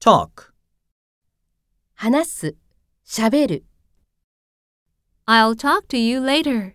talk, 話す、しゃべる。 I'll talk to you later.